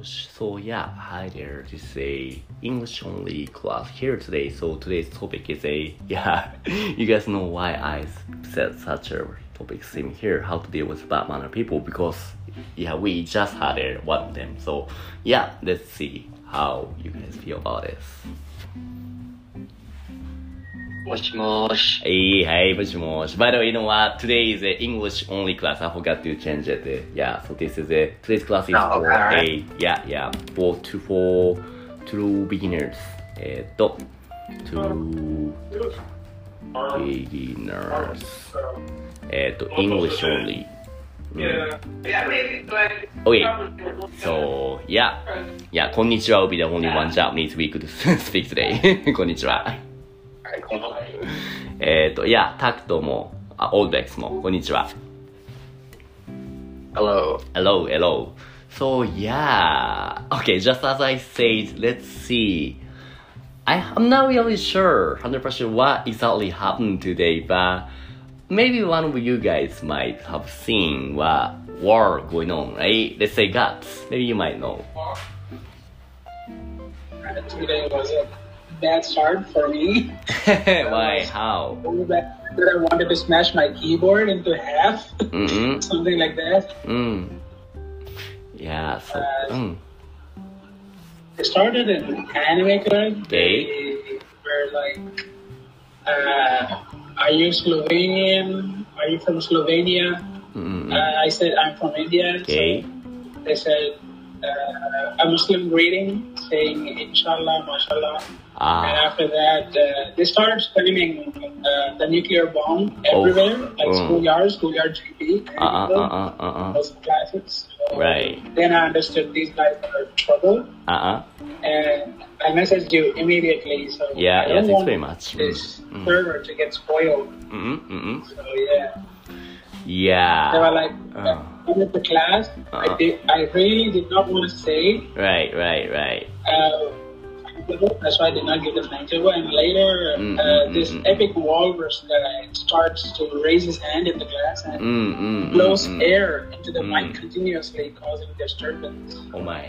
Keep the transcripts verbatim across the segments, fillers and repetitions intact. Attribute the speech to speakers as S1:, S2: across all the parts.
S1: Sh- So yeah, hi there. This is a English only class here today. So today's topic is a yeah. You guys know why I said such a topic theme here. How to deal with bad manner people because yeah, we just had a, one of them. So yeah, let's see how you guys feel about this.
S2: もしもーし。
S1: Hey, hey, もしもし. By the way, you know what? Today is a English only class. I forgot to change it. Yeah, so this is a today's class is
S2: Oh,
S1: for
S2: alright.
S1: a yeah, yeah, for to for to beginners. えっと to beginners. えっと English only. Mm. Okay, so yeah, yeah. こんにちは。Will be the only one Japanese week to speak today. こんにちは。えっと、いや、タクトも、あ、オールベックスも、こんにちは。
S2: Hello.
S1: Hello, hello. So, yeah. Okay, just as I said, let's see. I, I'm not really sure one hundred percent what exactly happened today, but maybe one of you guys might have seen what war going on, right? Let's say guts. Maybe you might know.
S3: Today was a bad start for me.
S1: Why? How?
S3: So bad that I wanted to smash my keyboard into half,
S1: Mm-hmm.
S3: something like that.
S1: Mm. Yeah, so,
S3: Uh,
S1: mm.
S3: It started in anime club.
S1: Okay.
S3: They were like, uh, "Are you Slovenian? Are you from Slovenia?"
S1: Mm-mm.
S3: Uh, I said, "I'm from India."
S1: Okay.
S3: So they said uh, a Muslim greeting, saying "Inshallah, Mashallah." And
S1: Ah.
S3: after that, uh, they started spamming uh, the nuclear bomb everywhere, like
S1: Mm.
S3: schoolyards, schoolyard G P,
S1: Uh uh uh uh uh uh.
S3: those classes. So
S1: Right.
S3: Then I understood these guys are in trouble,
S1: Uh uh.
S3: and I messaged you immediately. So
S1: Yeah,
S3: I
S1: yeah,
S3: don't
S1: thanks
S3: want
S1: very much.
S3: this
S1: Mm.
S3: server to get spoiled.
S1: Mm mm
S3: So yeah,
S1: Yeah.
S3: they were like,
S1: Uh.
S3: come at the class.
S1: Uh-uh.
S3: I did. I really did not want to say.
S1: Right, right, right.
S3: Uh, That's why I did not give the thank you. And later,
S1: Mm,
S3: uh,
S1: mm,
S3: this
S1: mm,
S3: epic walrus guy starts to raise his hand in the class and
S1: Mm mm.
S3: blows
S1: mm, mm.
S3: air into the
S1: Mm.
S3: mic continuously, causing disturbance.
S1: Oh my.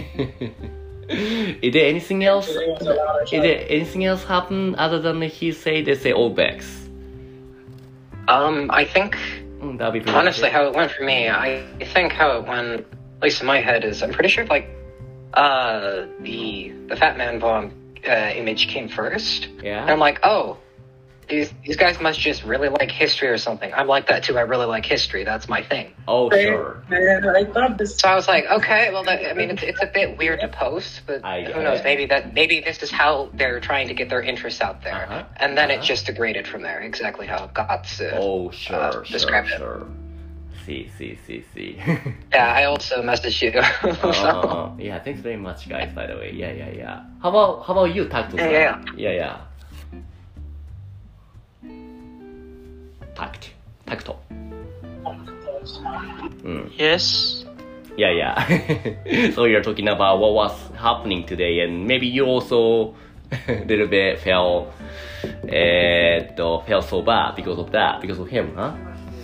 S1: Is there anything else?
S3: So there was a lot of
S1: Is there anything else happen other than he say they say all backs?
S2: Um, I think,
S1: Mm, that'll be pretty
S2: honestly,
S1: good.
S2: how it went for me, I think how it went, at least in my head, is I'm pretty sure, like, uh, the the Fat Man Bomb uh, image came first.
S1: Yeah.
S2: And I'm like, oh, these these guys must just really like history or something. I'm like that too. I really like history. That's my thing.
S1: Oh sure.
S3: And I thought this.
S2: So I was like, okay, well, that, I mean, it's, it's a bit weird to post, but
S1: I-
S2: who knows? Maybe that maybe this is how they're trying to get their interests out there,
S1: Uh-huh,
S2: and then
S1: uh-huh.
S2: it just degraded from there. Exactly how Guts uh,
S1: Oh sure,
S2: uh,
S1: sure,
S2: described it.
S1: sure. See, see, see, see.
S2: Yeah, I also messaged you. So-
S1: Oh, yeah, thanks very much, guys. By the way, yeah, yeah, yeah. How about how about you, Takuto?
S2: Yeah,
S1: yeah, yeah. Tact, Takuto. Mm.
S4: Yes.
S1: Yeah, yeah. So you're talking about what was happening today, and maybe you also a little bit felt, uh, felt so bad because of that, because of him, huh?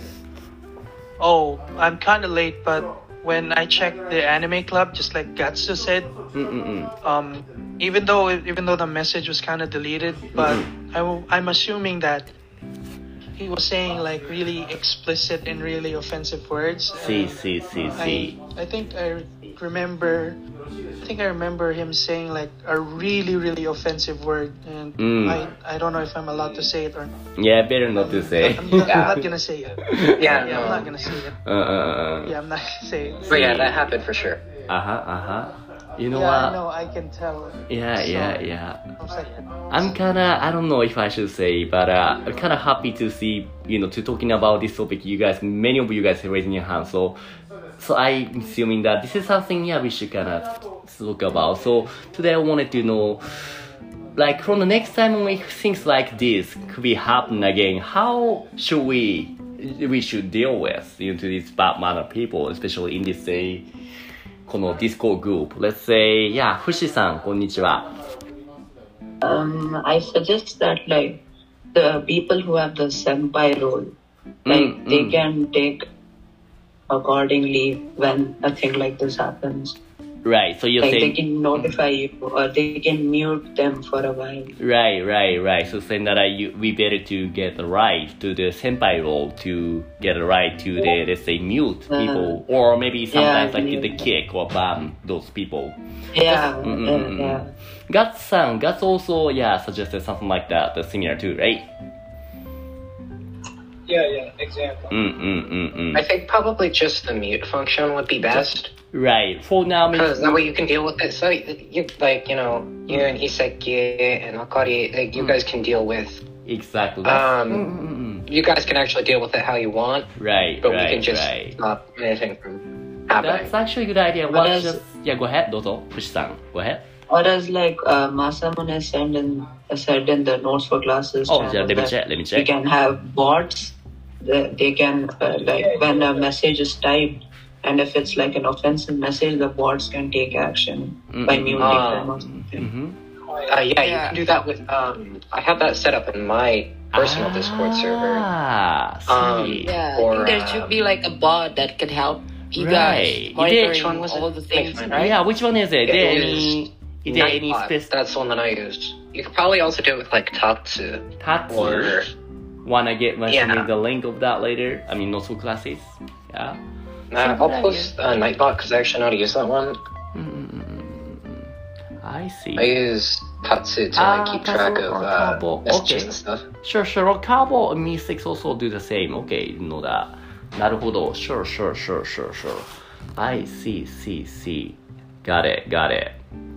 S4: Oh, I'm kind of late, but when I checked the anime club, just like Gatsu said,
S1: Mm-mm-mm.
S4: um, even though even though the message was kind of deleted, but I w- I'm assuming that he was saying like really explicit and really offensive words.
S1: See,
S4: and
S1: see, see,
S4: I
S1: see.
S4: I think I remember. I think I remember him saying like a really really offensive word, and
S1: Mm.
S4: I I don't know if I'm allowed to say it or not.
S1: Yeah, better not to say.
S4: I'm not,
S2: Yeah.
S4: I'm not gonna say it.
S2: yeah,
S4: Yeah, I'm
S2: no.
S4: not gonna say it.
S1: Uh, uh, uh.
S4: Yeah, I'm not gonna say it.
S2: But yeah, that happened for sure.
S1: Uh huh, uh huh. You know
S4: yeah,
S1: what?
S4: I know. I can tell.
S1: Yeah,
S4: So,
S1: yeah, yeah.
S4: I was like,
S1: I'm kinda, I don't know if I should say, but uh, I'm kinda happy to see, you know, to talking about this topic. You guys, many of you guys are raising your hands. So, so I'm assuming that this is something, yeah, we should kinda talk about. So today I wanted to know, like, from the next time when things like this could be happen again, how should we, we should deal with, you know, to these bad manner people, especially in this, say, この Discord group. Let's say, yeah, フシさん、こんにちは。
S5: Um, I suggest that like the people who have the senpai role, like
S1: Mm,
S5: they
S1: mm.
S5: can take accordingly when a thing like this happens.
S1: Right. So you're
S5: Like they
S1: saying
S5: can notify you or they can mute them for a while.
S1: right, right, right. So saying that I, you, we better to get the right to the senpai role to get the right to the let's say mute
S5: Uh,
S1: people or maybe sometimes
S5: yeah,
S1: like the
S5: mute.
S1: kick or ban those people.
S5: Yeah,
S1: Mm, mm,
S5: uh,
S1: mm, mm.
S5: yeah.
S1: Guts-san, Guts also yeah suggested something like that, the similar too, right?
S3: Yeah, yeah, exactly.
S1: Mm, mm, mm, mm.
S2: I think probably just the mute function would be best.
S1: Right. For now, maybe.
S2: Because that way you can deal with it. So, you like, you know, you and Iseki and Akari, like, you guys can deal with.
S1: Exactly.
S2: Um,
S1: Mm, mm, mm.
S2: You guys can actually deal with it how you want,
S1: Right,
S2: but
S1: right,
S2: we can just
S1: right.
S2: stop anything from happening.
S1: That's actually a good idea.
S5: But
S1: What
S5: as-
S1: just yeah, go ahead, Dozo. Push-san, go ahead.
S5: Or as like uh, Masamune said in, uh, said in the Notes for Classes
S1: Oh,
S5: channel
S1: yeah, let me
S5: that
S1: check. Let me
S5: you
S1: check.
S5: can have bots. That they can uh, like when a message is typed, and if it's like an offensive message, the bots can take action by
S1: Mm-mm.
S5: muting
S2: Ah.
S5: them or something.
S1: Mm-hmm.
S2: Uh, yeah, you
S6: Yeah.
S2: can do that with. Um, I have that set up in my personal Discord server.
S1: Ah,
S2: Um,
S1: see.
S6: Yeah, I
S2: Or,
S6: think there should be
S2: um,
S6: like a bot that could help you
S1: Right.
S6: guys
S1: Which
S6: monitoring
S2: one was it?
S6: all the things,
S2: Wait,
S6: right?
S1: Yeah, which one is it? Is there
S2: It
S1: any? Is there any
S2: Nightbot,
S1: specific
S2: That's the one that I used. You could probably also do it with like Tatsu
S1: Tatsu?
S2: or
S1: Wanna get mention
S2: Yeah.
S1: me the link of that later? I mean, Notes for Classes. Yeah.
S2: uh, I'll post uh, Nightbot because I actually know how to use that one.
S1: Mm-mm-mm-mm. I see.
S2: I use Tatsu to
S1: Ah,
S2: like keep track
S1: Tatsu
S2: of
S1: or
S2: uh,
S1: Kabo.
S2: messages
S1: Okay.
S2: and stuff.
S1: Sure, sure. Cabo and Mystics also do the same. Okay, know that. なるほど. Sure, sure, sure, sure, sure. I see, see, see. Got it, got it.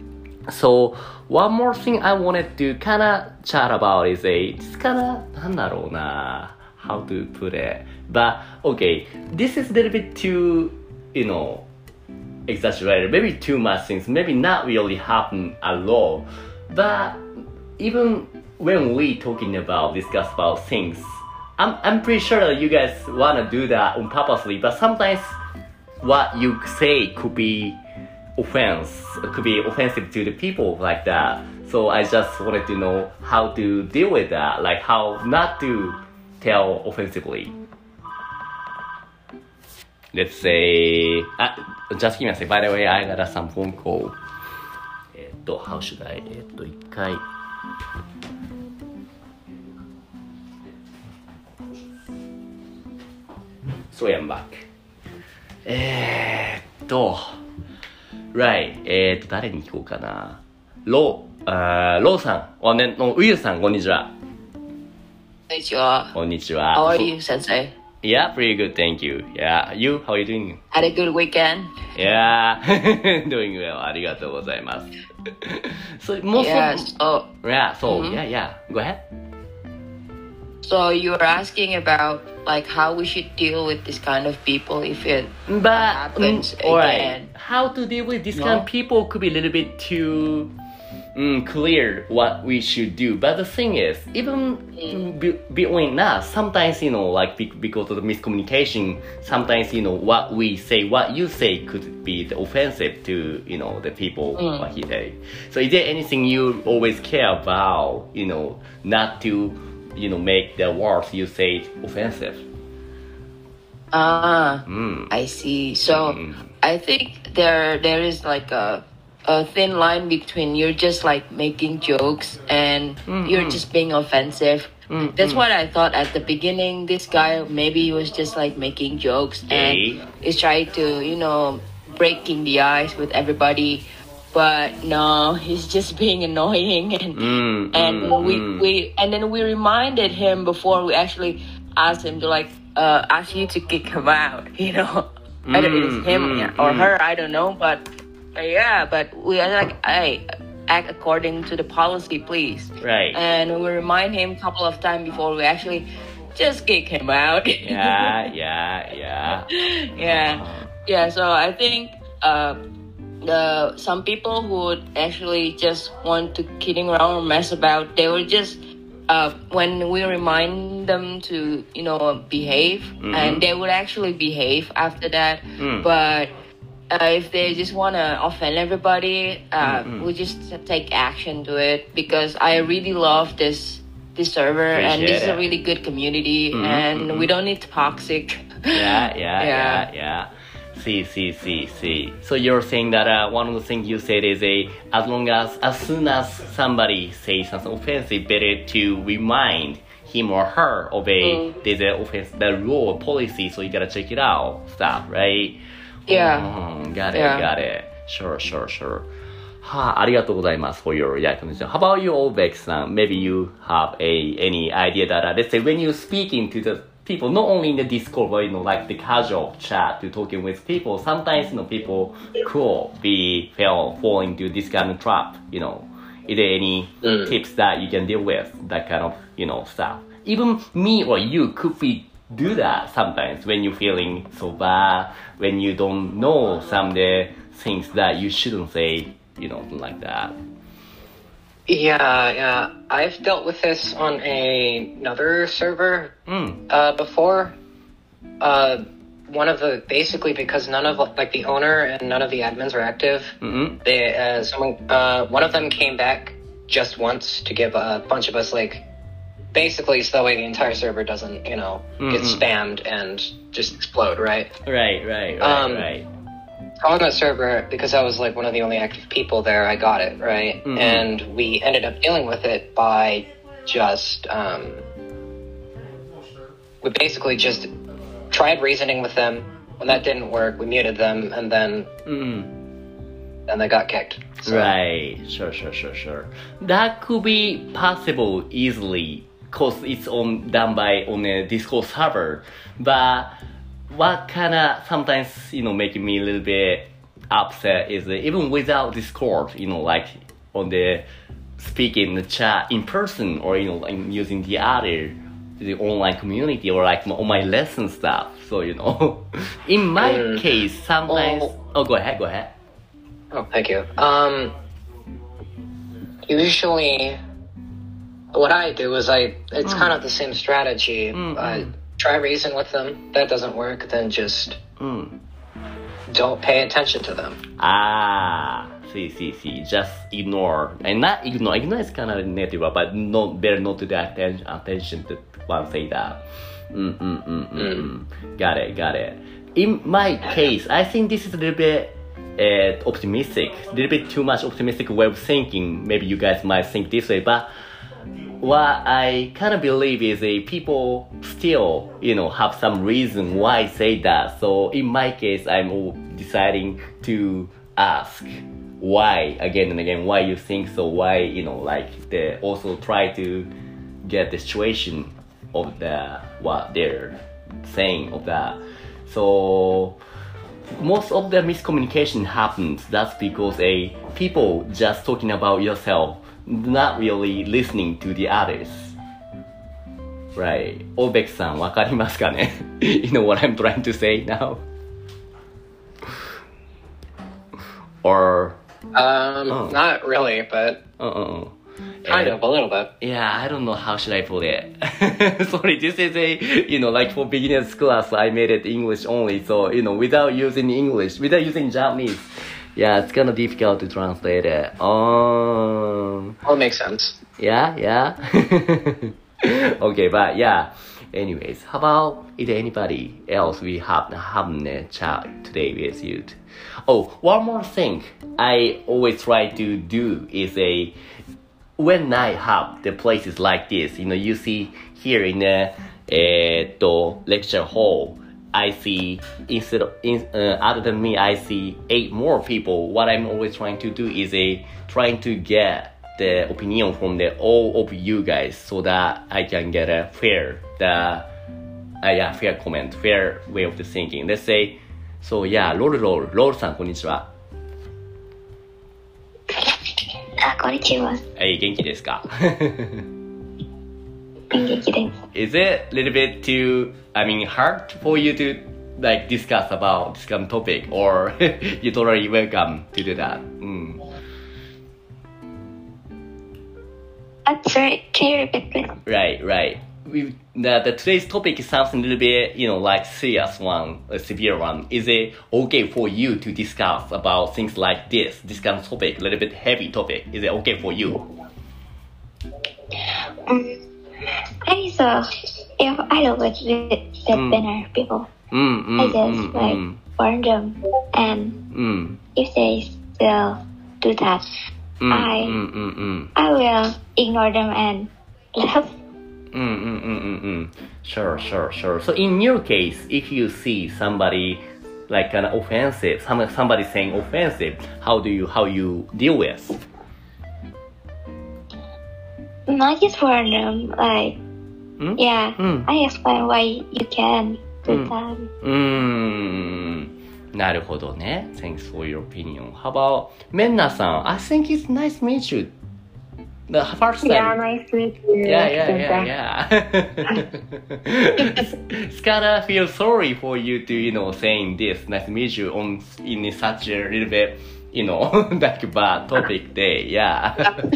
S1: So, one more thing I wanted to kind of chat about is a, just kind of, なんだろうな, how to put it. But, okay, this is a little bit too, you know, exaggerated. Maybe too much things. Maybe not really happen at all. But, even when we talking about, discuss about things, I'm, I'm pretty sure that you guys want to do that on purposely, but sometimes what you say could be offense, could be offensive to the people like that. So I just wanted to know how to deal with that, like how not to tell offensively. Let's say, uh, just give me a second. By the way, I got some phone call. えっと、how should I? えっと、一回。So I'm back. えーっと、Right. えーっと、誰に聞こうかな。ロー、あーローさん、おね、のウユさん、こんにちは。
S6: Konnichiwa.
S1: こんにちは。
S6: How are you, Sensei?
S1: Yeah, pretty good, thank you. Yeah, you, how are you doing?
S6: Had a good weekend?
S1: Yeah, doing well. ありがとうございます。so, most
S6: Yeah.
S1: of,
S6: So,
S1: yeah, so,
S6: Mhm.
S1: yeah, yeah. Go ahead.
S6: so you were asking about like how we should deal with this kind of people if it
S1: But,
S6: happens
S1: mm, alright.
S6: again.
S1: How to deal with this
S6: No?
S1: kind of people could be a little bit too mm, clear what we should do. But the thing is, even mm. be, between us, sometimes, you know, like be, because of the miscommunication, sometimes, you know, what we say, what you say could be the offensive to, you know, the people,
S6: Mm.
S1: what he say. So is there anything you always care about, you know, not to, you know, make the words you say offensive?
S6: Ah,
S1: Mm.
S6: I see. So
S1: Mm.
S6: I think there there is like a a thin line between you're just like making jokes and
S1: Mm,
S6: you're
S1: mm.
S6: just being offensive.
S1: Mm,
S6: That's
S1: mm.
S6: what I thought at the beginning. This guy maybe he was just like making jokes
S1: Okay.
S6: and he's trying to, you know, breaking the ice with everybody. But no, he's just being annoying and
S1: Mm,
S6: and
S1: mm,
S6: we,
S1: mm.
S6: we and then we reminded him before we actually asked him to like uh ask you to kick him out, you know. Whether it's
S1: Mm,
S6: him
S1: mm,
S6: or
S1: mm.
S6: her, I don't know, but uh, yeah, but we are like, hey, act according to the policy, please.
S1: Right.
S6: And we remind him a couple of times before we actually just kick him out.
S1: Yeah, yeah, yeah.
S6: yeah, yeah. So I think uh, the some people who would actually just want to kidding around or mess about, they would just uh, when we remind them to, you know, behave,
S1: Mhm.
S6: and they would actually behave after that.
S1: Mm.
S6: But uh, if they just want to offend everybody, uh,
S1: Mhm.
S6: we just take action to it, because I really love this this server, and this is
S1: Appreciate
S6: a
S1: it.
S6: really good community,
S1: Mhm,
S6: and
S1: mhm.
S6: we don't need toxic
S1: yeah, yeah,
S6: Yeah.
S1: yeah, yeah. See, see, see, see. So you're saying that uh, one of the things you said is a as long as as soon as somebody says something offensive, better to remind him or her of a
S6: Mm.
S1: there's a offense the rule or policy, so you gotta check it out, stuff, right?
S6: Yeah.
S1: Mm, got it,
S6: Yeah.
S1: got it. Sure, sure, sure. はあ、ありがとうございます for your explanation. How about you, Obek-san? Maybe you have a any idea that uh, let's say when you speaking to the people, not only in the Discord, but you know, like the casual chat to talking with people, sometimes you know people could be fell fall into this kind of trap. You know, is there any
S2: Mm.
S1: tips that you can deal with that kind of you know stuff? Even me or you could be do that sometimes when you're feeling so bad, when you don't know some of the things that you shouldn't say, you know, something like that.
S2: Yeah, yeah. I've dealt with this on a, another server
S1: Mm.
S2: uh, before. Uh, one of the basically because none of like the owner and none of the admins are active.
S1: Mm-hmm.
S2: They uh, someone uh, one of them came back just once to give a bunch of us like basically so that way the entire server doesn't you know get
S1: Mhm.
S2: spammed and just explode, right?
S1: Right, right, right,
S2: Um,
S1: right.
S2: On that server, because I was like one of the only active people there, I got it, right?
S1: Mhm.
S2: And we ended up dealing with it by just, um, we basically just tried reasoning with them. When that didn't work, we muted them, and then
S1: Mm-hmm.
S2: and they got kicked. So,
S1: Right, sure, sure, sure, sure. That could be possible easily, cause it's on done by on a Discord server. But what kind of sometimes you know making me a little bit upset is that even without Discord, you know, like on the speaking the chat in person or you know like using the other the online community or like on my lesson stuff. So you know, in my
S2: Mm.
S1: case, sometimes.
S2: Oh.
S1: Oh, go ahead, go ahead.
S2: Oh, thank you. Um, usually, what I do is I, it's
S1: Mm.
S2: kind of the same strategy.
S1: Mm,
S2: I
S1: mm.
S2: try reason with them. That doesn't work, then just
S1: Mm.
S2: don't pay attention to them.
S1: Ah, see, see, see. Just ignore, and not ignore. Ignore is kind of negative, but not better not to the attention. Attention to one say that. Mm, mm, mm, mm, mm. Got it, got it. In my case, I think this is a little bit uh, optimistic, a little bit too much optimistic way of thinking. Maybe you guys might think this way, but what I kind of believe is a people still, you know, have some reason why I say that. So in my case, I'm deciding to ask why again and again, why you think so, why, you know, like they also try to get the situation of the what they're saying of that. So most of the miscommunication happens. That's because a people just talking about yourself, not really listening to the others. Right. Obek-san, わかりますかね? You know what I'm trying to say now? Or
S2: Um,
S1: Oh.
S2: not really, but
S1: uh uh
S2: kind of a little bit.
S1: Yeah, I don't know how should I put it. Sorry, this is a, you know, like for beginners class, I made it English only. So, you know, without using English, without using Japanese, yeah, it's kind of difficult to translate it. Um,
S2: Well, it makes sense.
S1: yeah, yeah. Okay, but yeah. Anyways, how about is there anybody else we have having a chat today with you? Oh, one more thing I always try to do is a when I have the places like this, you know, you see here in the uh, lecture hall, I see instead of in, uh, other than me, I see eight more people. What I'm always trying to do is a trying to get the opinion from the all of you guys so that I can get a fair the uh, yeah fair comment, fair way of the thinking. Let's say, so yeah, ロールロールロールさんこんにちは。
S7: あ、こんにちは。
S1: はい、元気ですか？
S7: 元気です。
S1: Is it a little bit too, I mean, hard for you to like discuss about this kind of topic, or you totally welcome to do that? Mm.
S7: Uh, sorry, can you repeat please?
S1: Right, right. We, the, the today's topic is something a little bit, you know, like serious one, a severe one. Is it okay for you to discuss about things like this, this kind of topic, a little bit heavy topic? Is it okay for you?
S7: Um, I think so. If I live with the, the
S1: Mm.
S7: better people,
S1: Mm, mm,
S7: I just
S1: mm,
S7: like
S1: mm,
S7: warn them, and
S1: mm,
S7: if they still do that,
S1: mm,
S7: I
S1: mm, mm, mm.
S7: I will ignore them and laugh.
S1: Mm, mm, mm, mm, mm. Sure, sure, sure. So in your case, if you see somebody like an offensive, some, somebody saying offensive, how do you how you deal with?
S7: Not just warn them, like
S1: Hmm?
S7: yeah,
S1: Mm.
S7: I explain why you can do
S1: Mm.
S7: that.
S1: うーん。なるほどね。Thanks for your opinion. How about メンナさん I think it's nice to meet you. The first time.
S8: Yeah, nice to meet you.
S1: Yeah, yeah, yeah, yeah. It's kinda feel sorry for you to, you know, saying this. Nice to meet you on in such a little bit, you know, like bad topic day. Yeah.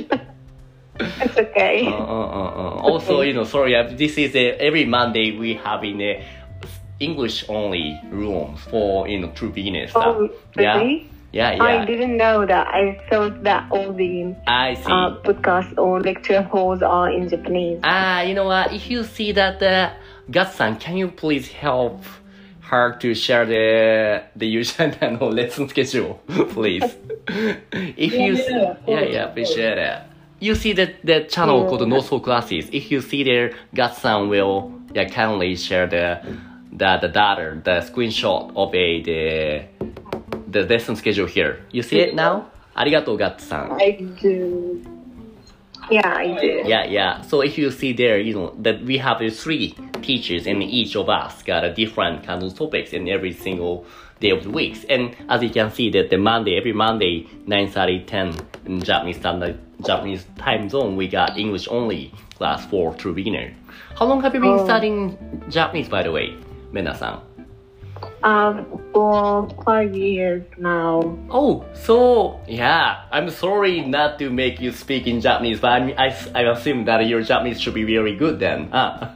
S8: It's okay.
S1: Uh, uh, uh, uh. Also, you know, sorry. uh, This is a, every Monday we have in a English only rooms for you know true beginners. stuff.
S8: Oh,
S1: Yeah.
S8: really?
S1: Yeah,
S8: I
S1: yeah.
S8: didn't know that. I thought that all the
S1: I see.
S8: uh, podcast or lecture halls are in Japanese.
S1: Ah, you know what? If you see that, uh, Gus-san, can you please help her to share the the usual no, lesson schedule, please? If you,
S3: Yeah, yeah, of
S1: yeah,
S3: course,
S1: yeah,
S3: of
S1: appreciate it. You see that the channel
S8: Yeah.
S1: called No Soul Classes. If you see there, Gus-san will yeah kindly share the the the data, the screenshot of a the the lesson schedule here. You see it now? ありがとう、Gus-san.
S8: I do. Yeah, I do.
S1: Yeah, yeah. So if you see there, you know, that we have the three teachers and each of us got a different kind of topics in every single day of the weeks. And as you can see that the Monday, every Monday, nine thirty, ten in Japanese standard, Japanese time zone, we got English only class for true beginner. How long have you been
S8: Oh.
S1: studying Japanese, by the way, Mena-san?
S8: Um, for five years now.
S1: Oh, so yeah, I'm sorry not to make you speak in Japanese, but I mean, I, I assume that your Japanese should be very good then. Huh?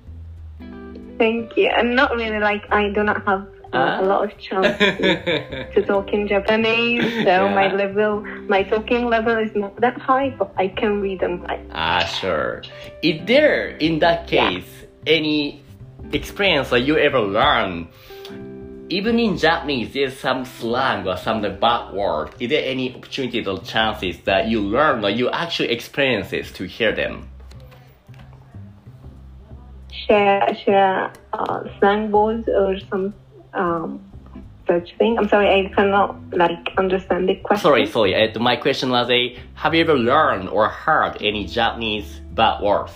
S8: Thank you. And not really like I do not have uh,
S1: Ah.
S8: a lot of chance to, to talk in Japanese, so
S1: Yeah.
S8: my level, my talking level is not that high, but I can read and write.
S1: Ah, sure. Is there, in that case, any experience that you ever learned? Even in Japanese, there's some slang or some bad word. Is there any opportunities or chances that you learn or you actually experience it to hear them?
S8: Share, share uh, slang words or some um, such thing. I'm sorry, I cannot like understand the question.
S1: Sorry, sorry. Uh, my question was, a, have you ever learned or heard any Japanese bad words?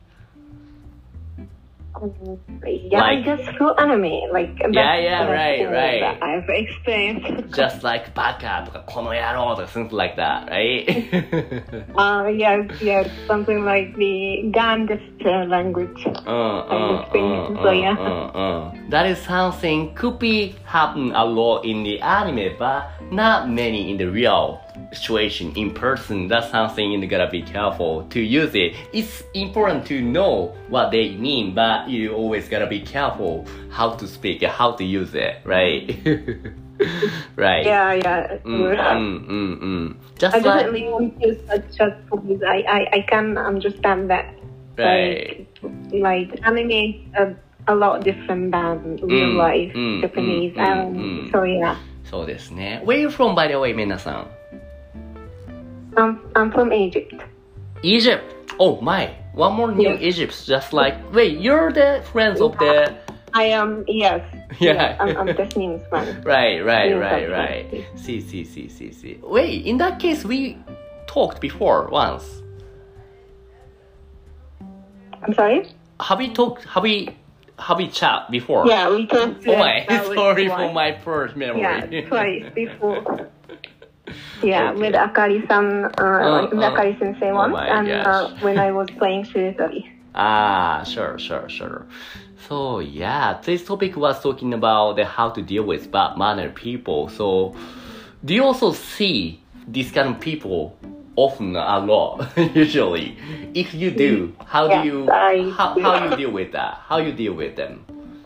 S8: Um, yeah,
S1: Like-
S8: I guess through anime, like that's,
S1: Yeah, yeah,
S8: that's
S1: right,
S8: all
S1: right.
S8: that I've experienced.
S1: Just like baka とかこの野郎 or something like that, right?
S8: uh, yes, yes, something like the Gan gesture language.
S1: Uh, uh,
S8: experience,
S1: uh,
S8: so yeah.
S1: uh, uh. That is something could be happen a lot in the anime, but not many in the real situation in person. That's something you gotta be careful to use it. It's important to know what they mean, but you always gotta be careful how to speak, how to use it, right? Right.
S8: Yeah, yeah.
S1: Mm, mm, mm, mm. Just
S8: I
S1: like
S8: definitely want to such as because I, I, I can understand that.
S1: right.
S8: Like, like anime is a, a lot different than real
S1: Mm,
S8: life
S1: mm,
S8: Japanese.
S1: mm, mm,
S8: um,
S1: mm.
S8: So yeah,
S1: そうですね。Where are you from, by the way, メナさん
S8: I'm I'm from Egypt.
S1: Egypt. Oh my. One more new
S8: Yes.
S1: Egypt. Just like, wait, you're the friends of the...
S8: I am yes.
S1: Yeah.
S8: I'm, I'm Tasneem's friend.
S1: Right, right,
S8: Yes,
S1: right,
S8: that's
S1: right.
S8: right.
S1: See, see, see, see, see. Wait, in that case, we talked before once.
S8: I'm sorry.
S1: Have we talked, have we, have we chat before?
S8: Yeah, we talked.
S1: Oh my,
S8: uh, with
S1: sorry for
S8: twice.
S1: my first memory.
S8: Yeah, twice before. Yeah,
S1: Okay.
S8: with Akari-san, uh,
S1: Uh,
S8: with
S1: uh.
S8: Akari Sensei
S1: Oh
S8: once,
S1: my
S8: and
S1: gosh.
S8: uh, when I was playing Surisari.
S1: Ah, sure, sure, sure. So yeah, this topic was talking about the how to deal with bad mannered people. So do you also see this kind of people often a lot usually? If you do, how
S8: Yes,
S1: do you
S8: I
S1: how,
S8: do.
S1: how you deal with that? How you deal with them?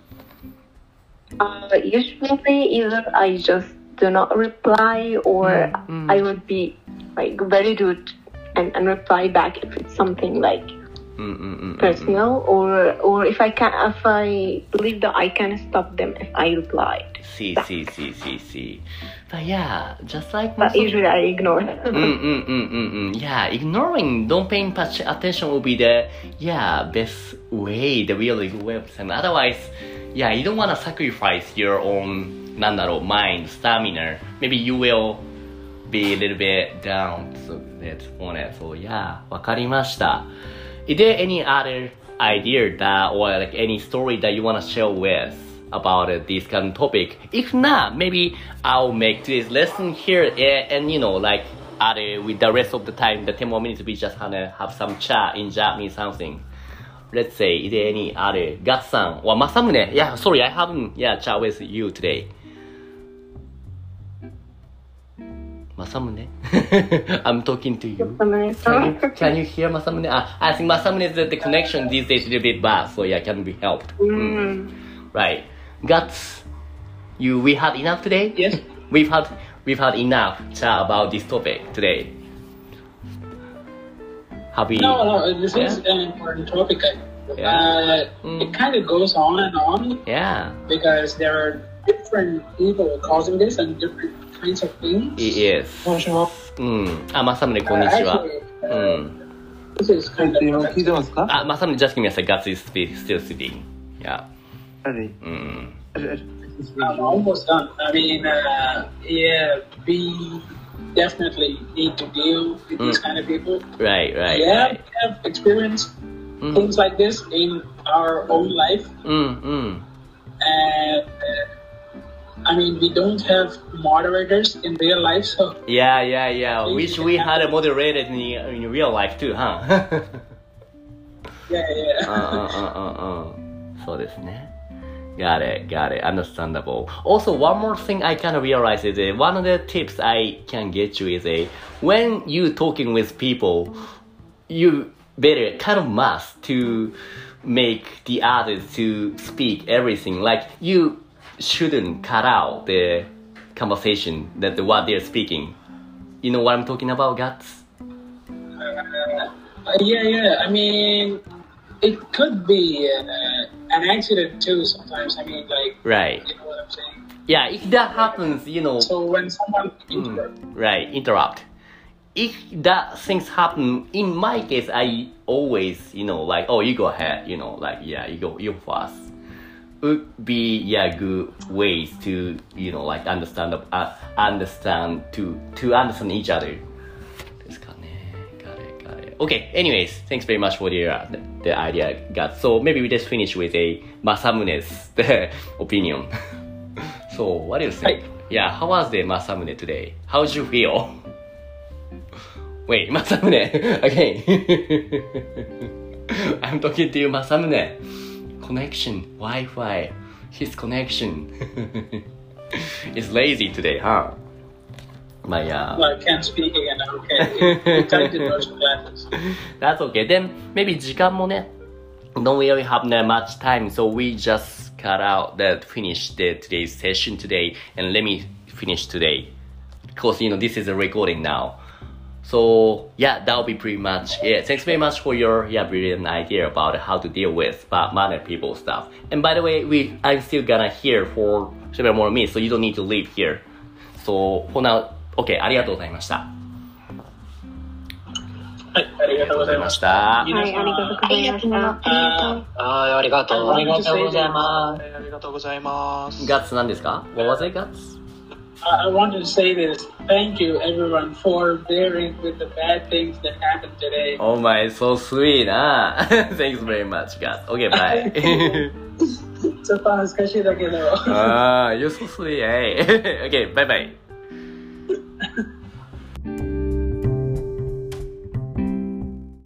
S8: Uh, usually, either I just do not reply, or
S1: Mm, mm.
S8: I would be like very rude and, and reply back if it's something like personal, or or if I can, if I believe that I can stop them if I replied.
S1: See, see, see, see, see. But yeah, just like
S8: But usually I ignore them.
S1: mm, mm, mm, mm, mm. Yeah, ignoring, don't paying much attention will be the yeah best way, the really good way of time. Otherwise, yeah, you don't want to sacrifice your own なんだろう mind, stamina. Maybe you will be a little bit down. So that's on it. So yeah, わかりました。Is there any other idea that or like any story that you want to share with about uh, this kind of topic? If not, maybe I'll make today's lesson here and, and you know like other with the rest of the time, the ten more minutes we just gonna have some chat in Japanese something. Let's say, is there any other Gatsu-san or Masamune? Yeah, sorry, I haven't yeah chat with you today. Masamune? I'm talking to you. Can you, can you hear Masamune? Ah, I think Masamune, the, the connection these days is a little bit bad, so yeah, can be helped.
S8: Mm.
S1: Mm. Right. Guts, you we had enough today?
S3: Yes.
S1: We've had we've had enough chat about this topic today. Have we?
S3: No, no, this
S1: yeah?
S3: is an important topic.
S1: Yeah.
S3: Uh,
S1: Mm.
S3: It kind of goes on and on.
S1: Yeah.
S3: Because there are different people causing this and different kinds of things.
S1: It is. Mm. Ah, Masamune, こんにちは。
S3: Actually,
S1: Mm.
S3: this is kind of.
S9: 聞いてますか？
S1: Ah, Masamune, just give me a second. Guts is spe- still sitting. Yeah.
S9: あれ
S1: Mm.
S3: I'm almost done. I mean, uh, yeah, we definitely need to deal with these
S1: Mm.
S3: kind of people.
S1: Right, right,
S3: Yeah,
S1: right.
S3: we have experienced
S1: Mm.
S3: things like this in our own life.
S1: Mm, mm.
S3: And uh, I mean, we don't have moderators in real life, so
S1: Yeah, yeah, yeah. Wish we had a moderator in, in real life too, huh?
S3: yeah, yeah.
S1: うんうんうんうんうん。そうですね。Got it, got it. Understandable. Also, one more thing I kind of realized is that one of the tips I can get you is a when you talking with people, you better kind of must to make the others to speak everything. Like you shouldn't cut out the conversation that the, what they're speaking. You know what I'm talking about, Guts?
S3: Uh, yeah, yeah. I mean, it could be uh, an accident too. Sometimes, I mean, like,
S1: Right.
S3: you know what I'm saying.
S1: Yeah, if that happens, you know.
S3: So when someone
S1: Mm,
S3: interrupts,
S1: right, interrupt. If that things happen, in my case, I always, you know, like, oh, you go ahead, you know, like, yeah, you go, you first. Would be, yeah, good ways to, you know, like, understand, uh, understand, to, to understand each other. ですかね. Got it, got it. Okay, anyways, thanks very much for the, uh, the, the idea, Got. So maybe we just finish with a Masamune's opinion. So, what do you think? Yeah, how was the Masamune today? How did you feel? Wait, Masamune, again. I'm talking to you, Masamune. Connection, Wi-Fi, his connection is lazy today, huh? My, uh...
S3: well, I can't speak again. Okay, you tied the doors with glasses.
S1: That's okay. Then maybe 時間もね don't really have that much time, so we just cut out that finish the today's session today, and let me finish today because you know this is a recording now. So yeah, that'll be pretty much it. Thanks very much for your yeah brilliant idea about how to deal with bad manner people stuff. And by the way, we I'm still gonna here for several more minutes, so you don't need to leave here. So for now, okay, ありがとうございました。
S3: はい、ありがとうございました。
S8: はい、ありがとうございました。
S2: あありがとう。
S3: ありがとうございま
S4: はい、ありがとうございます。
S1: ガッツなんですか？ What was it, Guts?
S3: I wanted to say this. Thank you, everyone, for bearing with the bad things that happened today.
S1: Oh my, so sweet, ah. Thanks very much, Guts. Okay, bye.
S3: ちょっと恥ずかしいだけど。
S1: ah, you're so sweet, hey. Okay, bye bye.